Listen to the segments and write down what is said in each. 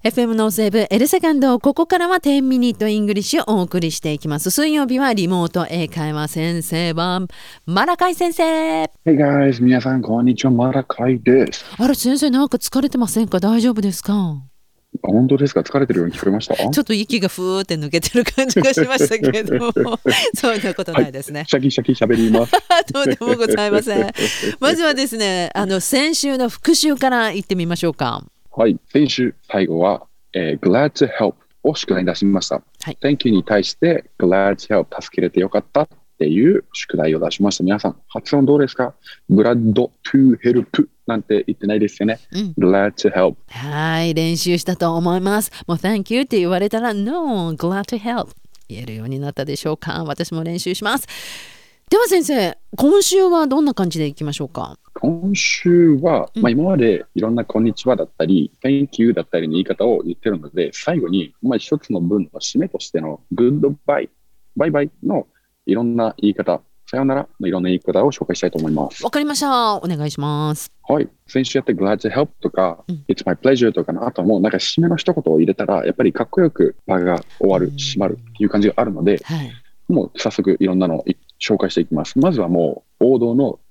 FM ノースウェーブエルセカンド、ここからは10ミニットイングリッシュをお送りしていきます。水曜日はリモート英会話先生版マラカイ先生。 Hey guys、皆さんこんにちは、マラカイです。 あれ先生、なんか疲れてませんか？大丈夫ですか？ 本当ですか？疲れてるように聞こえました？ ちょっと息がふーって抜けてる感じがしましたけれどもそんなことないですね、 シャキシャキ喋りますとんでもございませんまずはですね、先週の復習から言ってみましょうか。 はい、先週最後は、glad to help を宿題に出しました、 はい、 Thank you に対して glad to help 助けれてよかったっていう宿題を出しました。皆さん発音どうですか？ glad to help なんて言ってないですよね、glad to help。 はい、練習したと思います。もう Thank you って言われたら No, glad to help 言えるようになったでしょうか？私も練習します。では先生、今週はどんな感じでいきましょうか？ 今週は、今までいろんなこんにちはだったり Thank you だったりの言い方を言ってるので、最後に、一つの文の締めとしての Goodbye、バイバイのいろんな言い方、さよならのいろんな言い方を紹介したいと思います。 わかりました。お願いします。 はい。先週やって Glad to help とか、It's my pleasure とかの後もなんか締めの一言を入れたらやっぱりかっこよく場が終わる、閉まるっていう感じがあるので、 はい、 もう早速いろんなのを紹介していきます。まずはもう王道の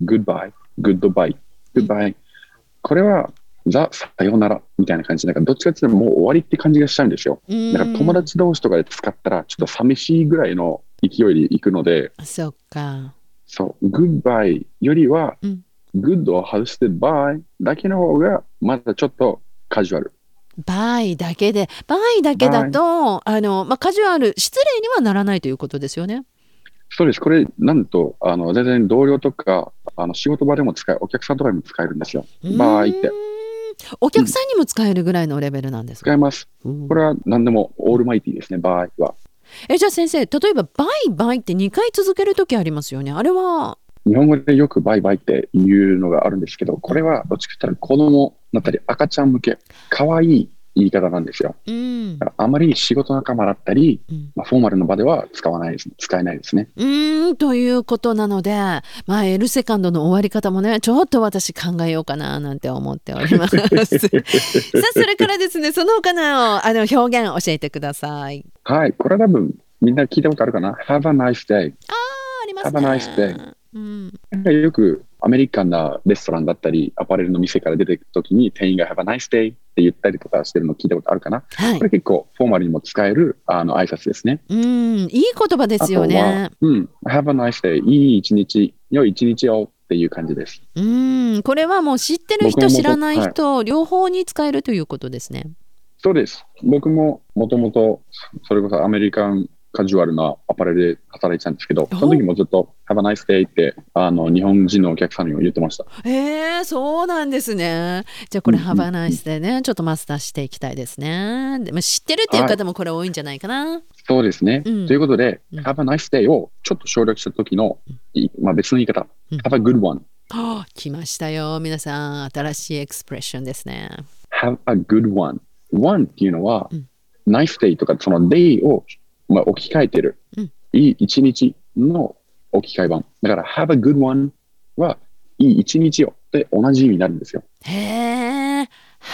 Goodbye、Goodbye、Goodbye。これはザ・さよならみたいな感じで、なんかどっちかっていうともう終わりって感じがしちゃうんですよ。なんか友達同士とかで使ったらちょっと寂しいぐらいの勢いでいくので、 そっか。 そう、Goodbye よりは、Good を外して Bye だけの方がまだちょっとカジュアル。 バイだけで、バイだけだとカジュアル、失礼にはならないということですよね。 そうです。これなんと全然同僚とか仕事場でも使え、お客さんとかにも使えるんですよ。バイってお客さんにも使えるぐらいのレベルなんですか？ 使えます。これは何でもオールマイティですね、バイは。 じゃあ先生、例えばバイバイって2回続けるときありますよね。あれは日本語でよくバイバイっていうのがあるんですけど、これはどっちかというと子供だったり赤ちゃん向け、可愛い言い方なんですよ。だからあまり仕事仲間だったり、フォーマルの場では使えないですね。 ということなので、エルセカンドの終わり方もね、ちょっと私考えようかななんて思っておりますさあ、それからですね、その他の表現教えてください。 はい、これ多分みんな聞いたことあるかな。Have a nice day。 ありますね。 Have a nice day。よくアメリカンなレストランだったりアパレルの店から出てくるときに店員が Have a nice day って言ったりとかしてるの聞いたことあるかな、これ結構フォーマルにも使える挨拶ですね。 いい言葉ですよね。 Have a nice day、 いい一日、良い一日をっていう感じです。 これはもう知ってる人知らない人、両方に使えるということですね。 そうです。僕ももともとそれこそアメリカンカジュアルなアパレルで働いてたんですけど、その時もずっと Have a nice day って日本人のお客さんにも言ってました。 そうなんですね。じゃあこれ Have a nice day ね、ちょっとマスターしていきたいですね。でも知ってるっていう方もこれ多いんじゃないかな。 そうですね、ということで、Have a nice day をちょっと省略した時の、別の言い方、Have a good one。 来ましたよ皆さん、新しいエクスプレッションですね。 Have a good one。one っていうのは、nice day とかその day を置き換えてる、いい一日の置き換え版だから Have a good one はいい一日よって同じ意味になるんですよ。 Have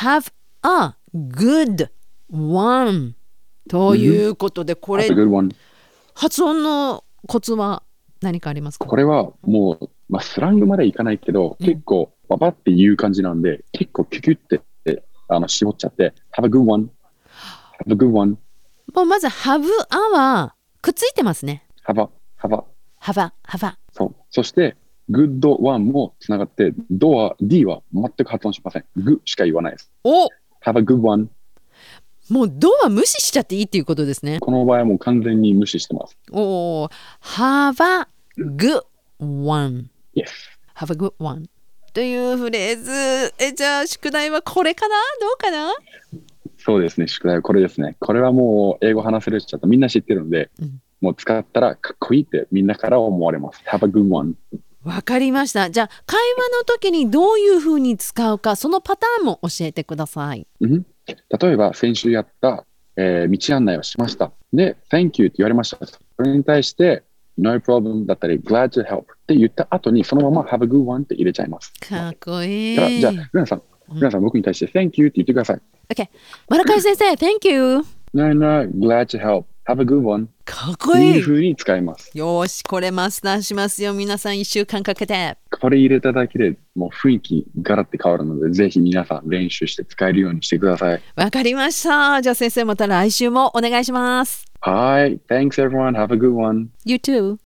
a good one ということで、これ、発音のコツは何かありますか？ これはもう、スラングまでいかないけど、結構ババっていう感じなんで、結構キュキュって絞っちゃって Have a good one Have a good one。 もうまず Have a はくっついてますね。 Have a そして Good one もつながって D は全く発音しません。グしか言わないです。Have a good one。 もうドは無視しちゃっていいっていうことですね。 この場合はもう完全に無視してます。 Have a good one。 Yes。 Have a good one というフレーズ。じゃあ宿題はこれかな？どうかな？ そうですね、宿題はこれですね。これはもう英語話せる人だとみんな知ってるので、もう使ったらかっこいいってみんなから思われます。Have a good one。 わかりました。じゃあ会話の時にどういうふうに使うか、そのパターンも教えてください。 例えば先週やった、道案内をしました。で Thank you って言われました。それに対して No problem だったり Glad to help って言った後にそのまま Have a good one って入れちゃいます。 かっこいい。 じゃあルナさん、 皆さん僕に対して Thank you って言ってください。 OK。マラカイ先生、Thank you。 No, no, glad to help. Have a good one. かっこっていい。 いう風に使います。 よーし、これマスターしますよ。皆さん1週間かけて。 これ入れただけでもう雰囲気ガラッて変わるので、ぜひ皆さん練習して使えるようにしてください。 わかりました。じゃあ先生また来週もお願いします。 はい。Thanks everyone. Have a good one. You too.